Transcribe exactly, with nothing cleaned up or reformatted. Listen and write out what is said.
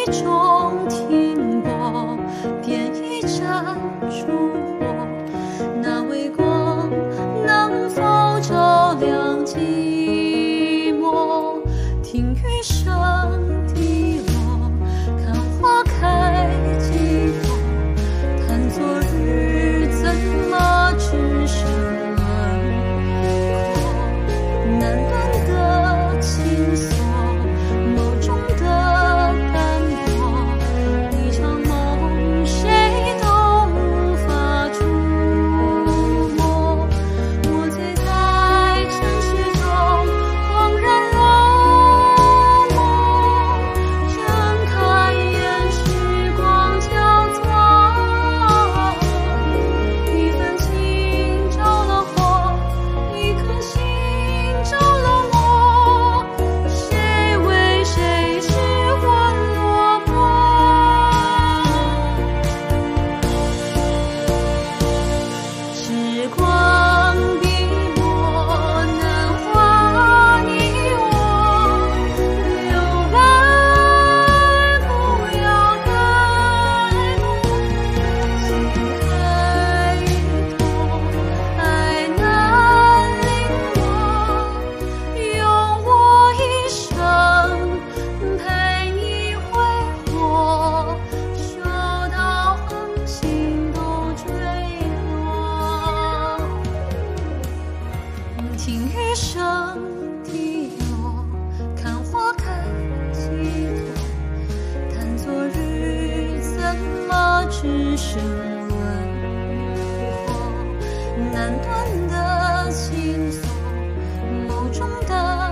意中停泊，便已站烛火。那微光能否照亮寂寞？听雨声滴落，看花开几朵。叹昨日怎么只剩轮廓？难断的情锁，眸中的斑驳，一场梦谁都无法触摸。我醉在尘世中，恍然落寞，睁开眼，时光交错。一份情着了火，一颗心着了魔，谁为谁失魂落魄？时光笔墨难画你我，留白不要开过。情海一痛，爱难临落，用我一生陪你挥霍，修到恒星都坠落。听雨声滴落，看花开几朵。叹昨日怎么只剩轮廓？难断的情锁，眸中的